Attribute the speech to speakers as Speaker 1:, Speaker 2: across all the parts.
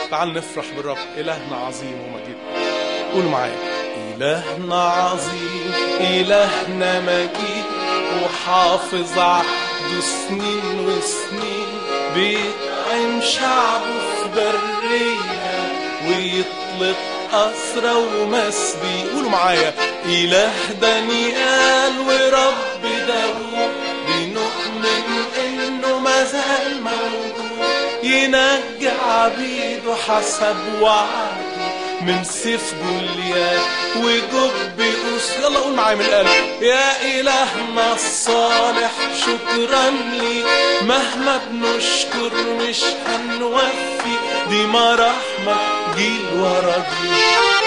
Speaker 1: تعال نفرح بالرب. إلهنا عظيم ومجيد. قولوا معايا: إلهنا عظيم، إلهنا مجيد، وحافظ عهده سنين وسنين، بيطعم شعبه في برية ويطلق أسرى ومسبي. قولوا معايا: إله دانيال ورب داوود، بنؤمن إنه مازال موجود، ينجي عبيده حسب وعده من سيف جوليات وجب قوس. يلا قول معايا من القلب: يا إلهنا الصالح شكرا لي، مهما بنشكر مش هنوفي، دي مراحمك جيل ورا جيل،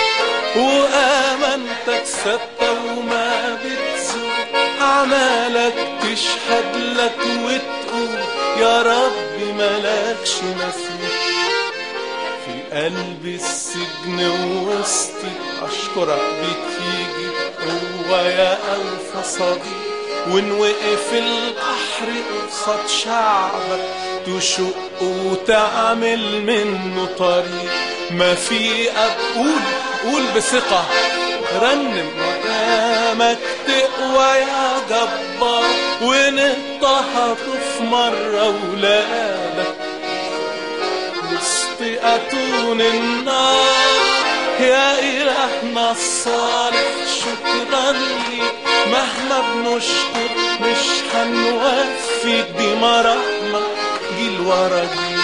Speaker 1: وآمنتك ثابتة وما بتزول، أعمالك تشهد لك وتقول يا رب ملكش مثيل. في قلب السجن ووسطي أشكرك بتيجي هو يا أوفى صديق، وإن وقف البحر قصاد شعبك تشق وتعمل منه طريق. ما في أب قول بثقة، رنم مقامك تقوى يا جبار، وإن اضطهدوا في مرة ولادك وسط أتون النار. يا إلهنا الصالح شكرا ليك، مهما بنشكر مش هنوفي، دي مراحمك جيل ورا جيل،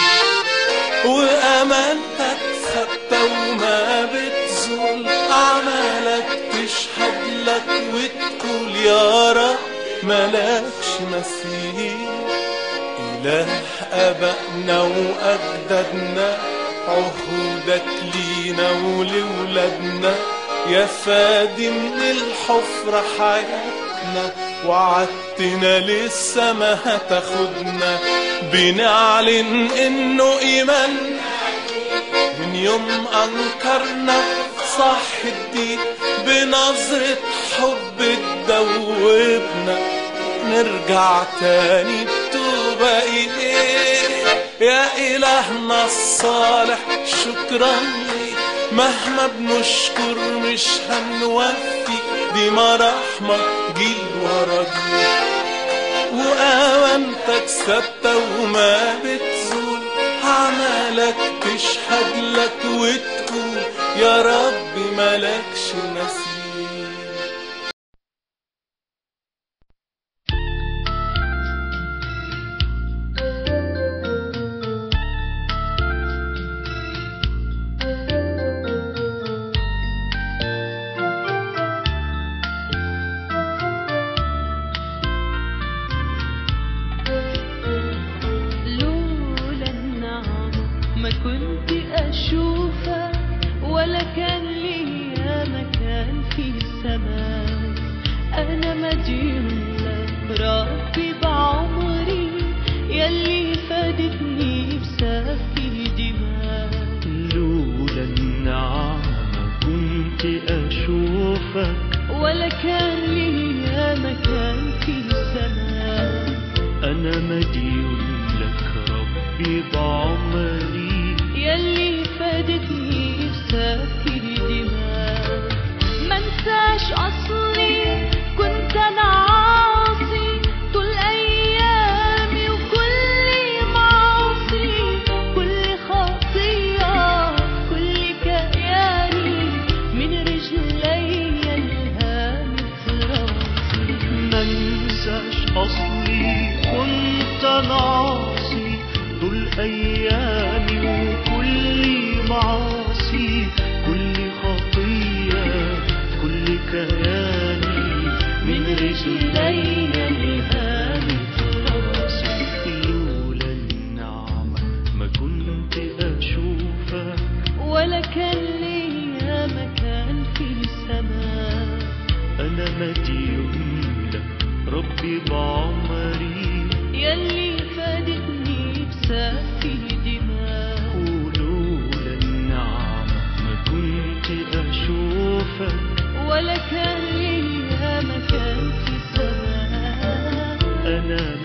Speaker 1: وأمانتك ثابتة وما بتزول، أعمالك تشهد لك وتقول يا رب ملكش مثيل. إله آبائنا وأجدادنا، عهودك لينا ولولادنا، يا فادي من الحفرة حياتنا، وعدتنا لسه ما هتاخدنا، بنعلن إنه إيمان من يوم أنكرنا صح الدين، بنظرة حب تدوبنا، نرجع تاني بتوبة إليه. يا إلهنا الصالح شكرا ليك، مهما بنشكر مش هنوفي، دي مراحمك جيل ورا جيل، وأمانتك ثابتة وما بتزول، أعمالك تشهد لك وتقول يا رب ملكش مثيل.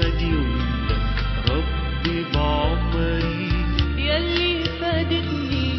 Speaker 2: يلي فادتني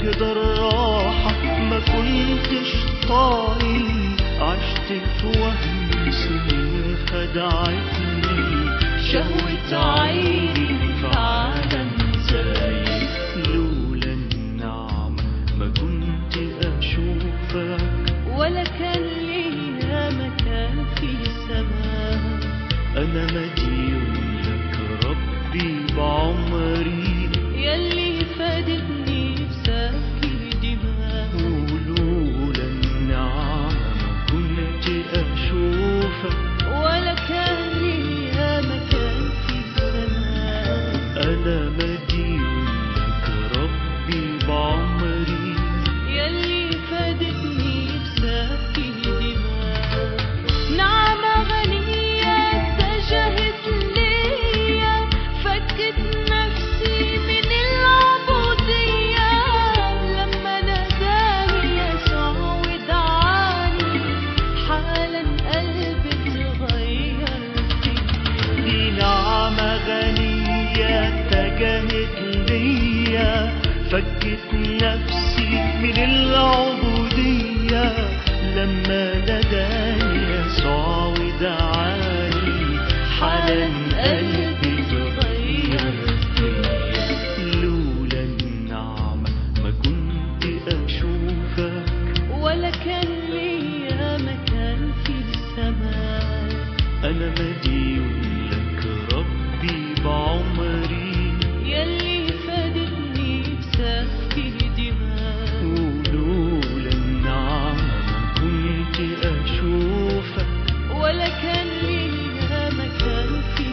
Speaker 2: كده الراحة ما كنتش طايل، عشت في وهم سنين خدعتني شهوة عيني في عالم زايد. لولا النعمة ما كنت أشوفك، ولا كان ليا مكان في السماء. أنا مديون لك ربي بعمري، يلي فادتني بسفك دماء. ولولا النعمة ما كنت أشوفك، ولا كان ليا مكان في السماء. أنا مديون لك ربي بعمري، يلي فادتني بسفك دماء. نعمة غنية اتجهت ليا، فكت نفسي من العبودية. لما ناداني يسوع ودعاني، حالا قلبي اتغير فيا. دي نعمة غنية اتجهت ليا، فكت نفسي من العبودية. لما ناداني يسوع ودعاني، حالا قلبي اتغير فيا. لولا النعمة ما كنت أشوفك، ولا كان ليا مكان في السماء. أنا مديون لك ربي بعمري، يلي فادتني بسفك دماء. ولولا النعمة ما كنت أشوفك، ولا كان ليا مكان في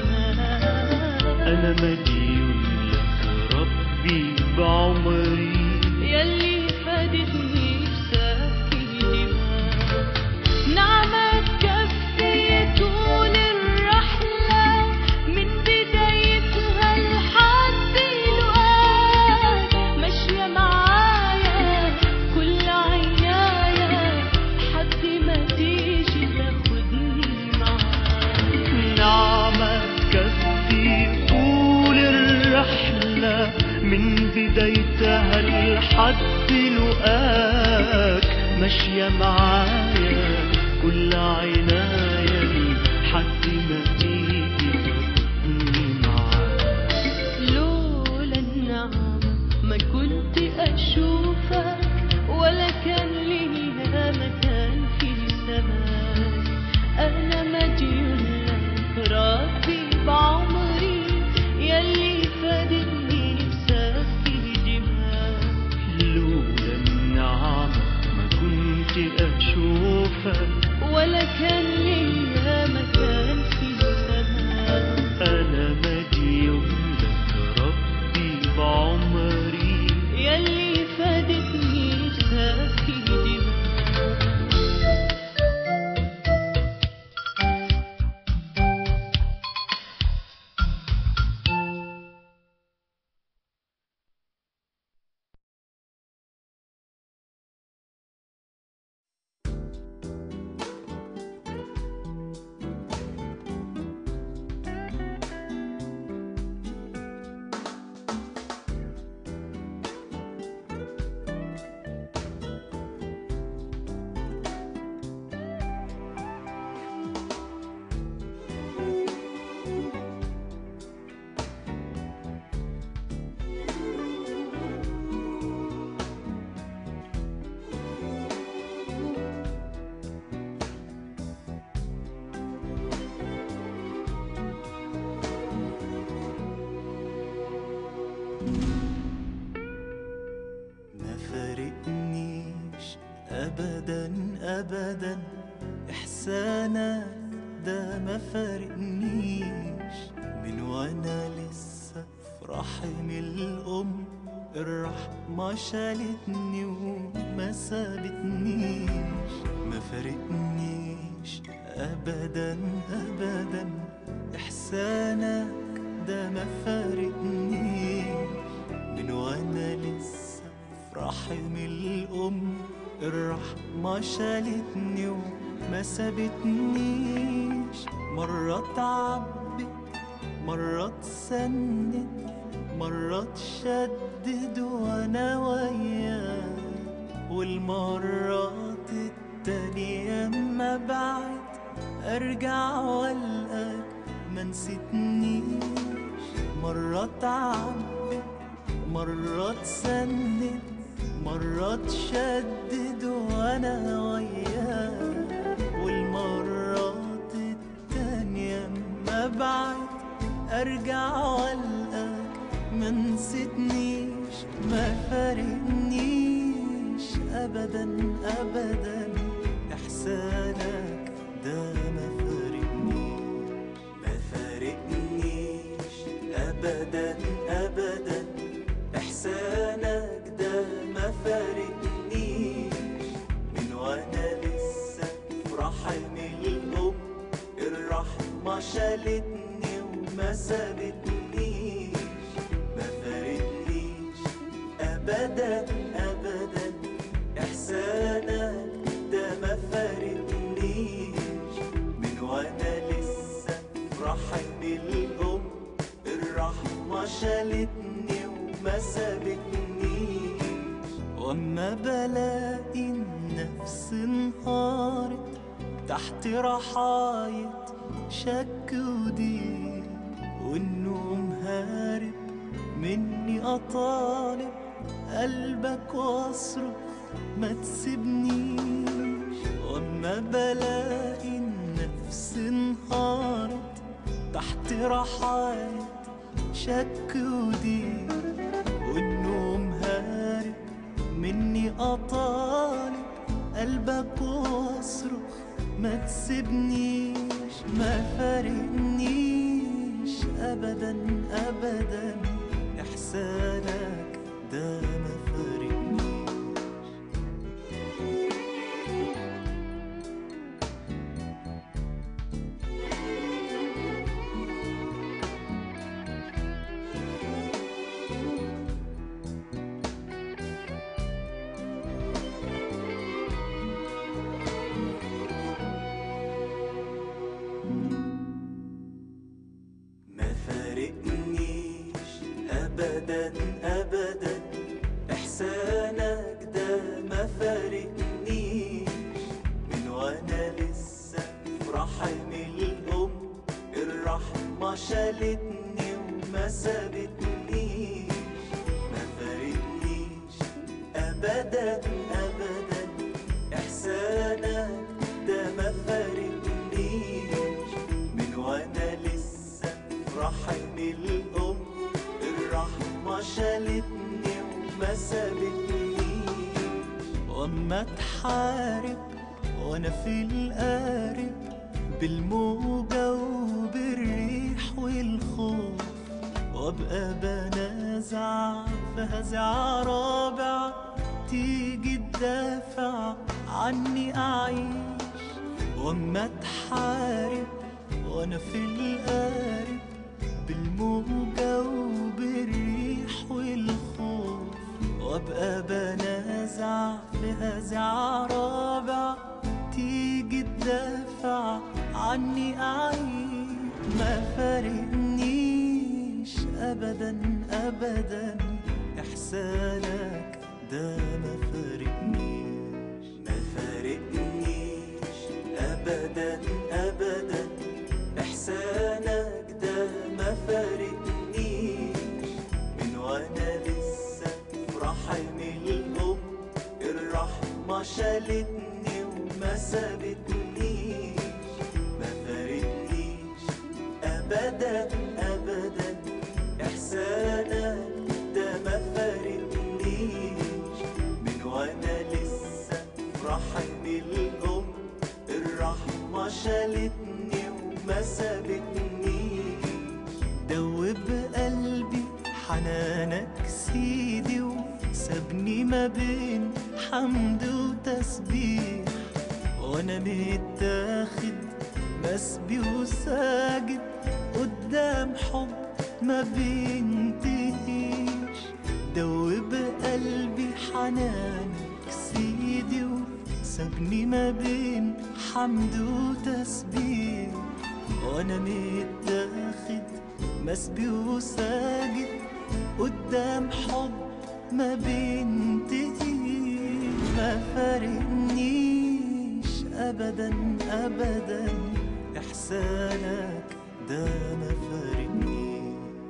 Speaker 2: السماء. أنا مديون لك ربي بعمري، يلي فادتني بسفك دماء. نعمة تكفي طول الرحلة، من بدايتها لحد الوقت. ماشية معايا كل عناية، لحد ما تيجي تاخدني معاك. نعمة تكفي طول الرحلة، من بدايتها لحد لقاك. ماشية معايا كل عناية، لحد ما تيجي تاخدني معاك. لولا النعمة ما كنت أشوفك، ولا كان ليا مكان في السماء. أنا مديون لك ربي بعمري، يلي فادتني بسفك دماء. لولا النعمة ما كنت أشوفك، ولا كان ليا مكان في السماء. أنا مديون لك ربي بعمري، يلي فادتني بسفك دماء. أبدا أبدا إحسانك ده ما فارقنيش. من وأنا لسه في رحم الأم الرحمة شالتني وما سابتنيش. ما فارقنيش أبدا أبدا إحسانك ده ما فارقنيش. من وأنا لسه في رحم الأم الرحمة شالتني وما سابتنيش. مرة تعبت مرة تسند مرة تشدد وانا وياك، والمرات التانية اما بعد ارجع والقاك ما نسيتنيش. مرة تعبد، مرة تسند، مرة تشدد وانا وياك، والمرات التانية اما بعد ارجع والقاك ما نسيتنيش. ما فارقنيش ابدا ابدا احسانك ده ما فارقنيش. ما فارقنيش ابدا ابدا احسانك ده ما فارقنيش. من وانا لسه في رحم الام الرحمة شالتني وما سابتنيش. ما فارقنيش ابدا ابدا احسانك ده ما فارقنيش. من وانا لسه في رحم الام الرحمة شالتني وما سابتنيش. واما بلاقي النفس انهارت تحت رحاية شك وضيق، والنوم هارب مني اطالب قلبك واصرخ ما تسيبنيش. واما بلاقي النفس انهارت تحت رحاية شك وضيق، والنوم هارب مني اطالب قلبك واصرخ ما تسيبنيش. ما فارقنيش ابدا ابدا احسانك ده ما فارقنيش. ما فارقنيش ابدا ابدا احسانك ده ما فارقنيش. من وانا لسه في رحم الام الرحمة شالتني وما سابتنيش. ما فارقنيش ابدا ابدا احسانك ده ما فارقنيش. من وانا لسه في رحم الام الرحمة شالتني وما سابتنيش. واما تحارب وانا في القارب بالموجة وبالريح والخوف، وابقى بنازع في هزع رابع تيجي تدافع عني اعيش. واما تحارب وانا في القارب بالموجة وبالريح والخوف، وابقى بنازع في هزع رابع تيجي تدافع عني اعيش. ما فارقنيش ابدا ابدا احسانك ده ما فارقنيش. ما فارقنيش ابدا ابدا احسانك ده ما فارقنيش. من وانا لسه في رحم الام الرحمة شالتني وما سابتنيش. ما فارقنيش ابدا ابدا احسانك ده ما فارقنيش. من وانا لسه في رحم الام الرحمة شالتني وما سابتنيش. دوب قلبي حنانك سيدي وسابني ما بين حمد وتسبيح، وانا متاخد مسبي وساجد قدام حب ما بينتهيش. دوب قلبي حنانك سيدي وسابني ما بين حمد وتسبيح، وانا متاخد مسبي وساجد قدام حب ما بينتهي. ما فارقنيش أبدا أبدا إحسانك ده ما فارقنيش.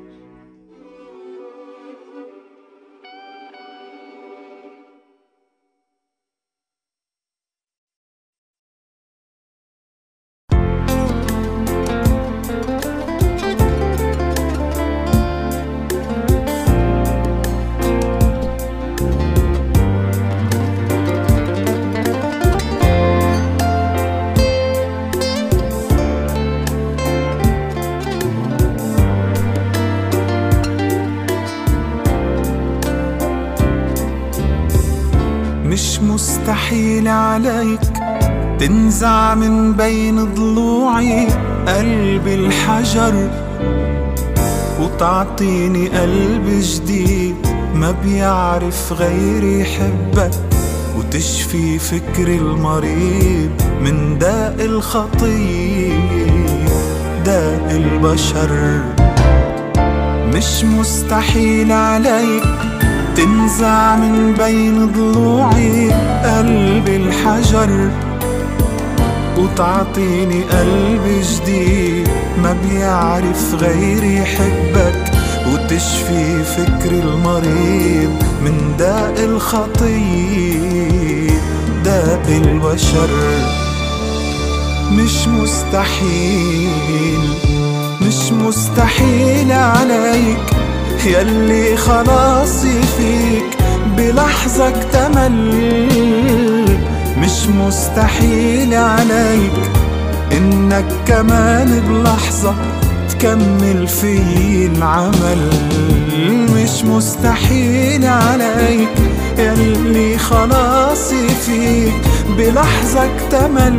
Speaker 1: مش مستحيل عليك تنزع من بين ضلوعي قلب الحجر وتعطيني قلب جديد ما بيعرف غير يحبك، وتشفي فكري المريض من داء الخطية داء البشر. مش مستحيل عليك تنزع من بين ضلوعي قلب الحجر وتعطيني قلب جديد ما بيعرف غير يحبك، وتشفي فكري المريض من داء الخطية داء البشر. مش مستحيل مش مستحيل عليك ياللي خلاصي فيك بلحظة اكتمل. مش مستحيل عليك انك كمان بلحظة تكمل في العمل. مش مستحيل عليك ياللي خلاصي فيك بلحظة اكتمل.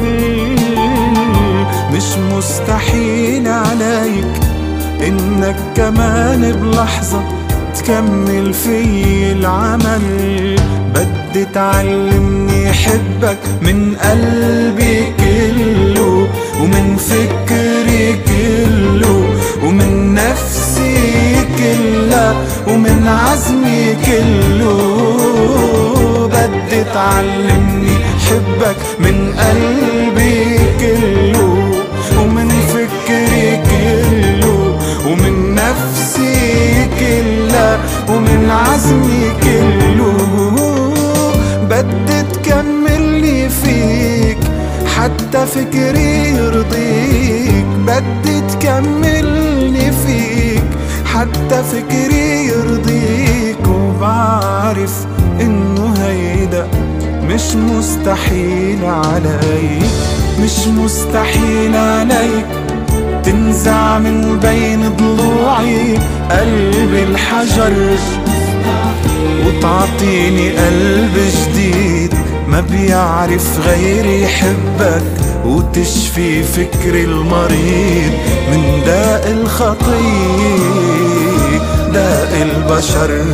Speaker 1: مش مستحيل عليك انك كمان بلحظة تكمل في العمل. بدي تعلمني احبك من قلبي كله ومن فكري كله ومن نفسي كلها ومن عزمي كله. بدي تعلمني احبك من قلبي كله ومن فكري كله ومن نفسي كلها ومن عزمي كله. بدي تكملني فيك حتى فكري يرضيك. بدي تكملني فيك حتى فكري يرضيك. وبعرف انه هيدا مش مستحيل عليك. مش مستحيل عليك تنزع من بين ضلوعي قلب الحجر وتعطيني قلب جديد ما بيعرف غير يحبك، وتشفي فكري المريض من داء الخطية داء البشر.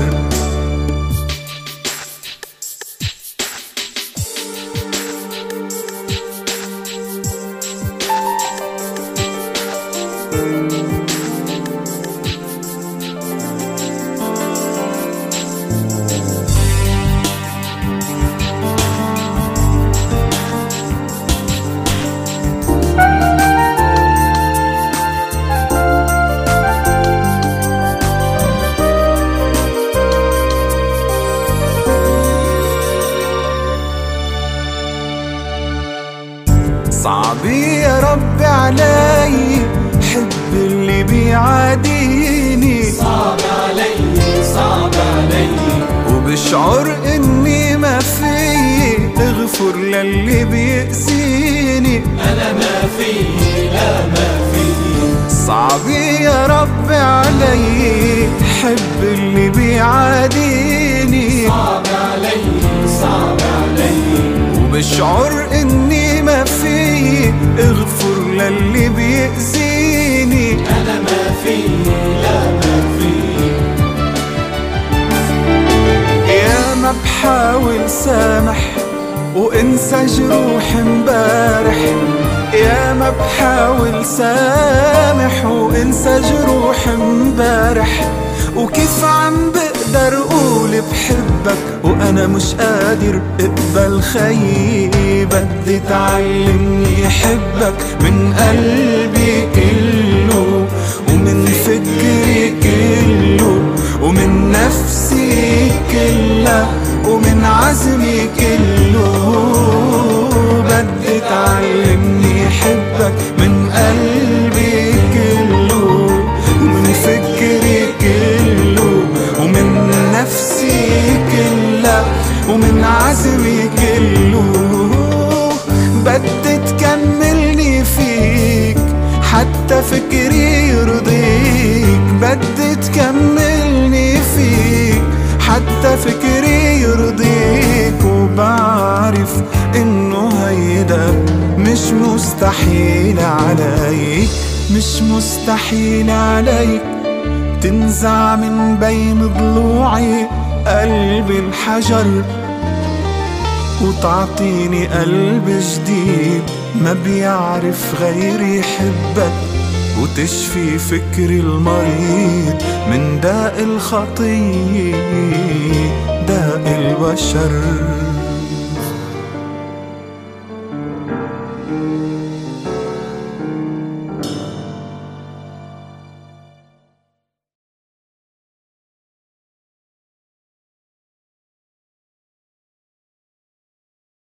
Speaker 1: صعب يا رب علي حب اللي بيعاديني.
Speaker 2: صعب علي صعب علي
Speaker 1: وبشعر اني ما في اغفر للي بيأذيني.
Speaker 2: أنا ما في لا ما في.
Speaker 1: صعب يا رب علي حب اللي بيعاديني.
Speaker 2: صعب علي صعب علي
Speaker 1: وبشعر اني ما في اغفر للي بيأذيني.
Speaker 2: أنا ما في لا ما في.
Speaker 1: يا ما بحاول سامح وانسى جروح امبارح. يا ما بحاول سامح وانسى جروح امبارح وكيف عم بقدر قول بحبك وأنا مش قادر اقبل خيي؟ بدي تعلمني حبك من قلبي كله ومن فكري كله ومن نفسي كلها ومن عزمي كله. بدي تعلمني حبك من قلبي كله ومن فكري كله ومن نفسي كلها ومن عزمي كله. بدي تكملني فيك حتى فكري يرضيك. بدي تكملني فيك حتى فكري يرضيك. وبعرف انه هيدا مش مستحيل علي، مش مستحيل عليك تنزع من بين ضلوعي قلب الحجر وتعطيني قلب جديد ما بيعرف غير يحبك وتشفي فكري المريض من داء الخطية داء البشر.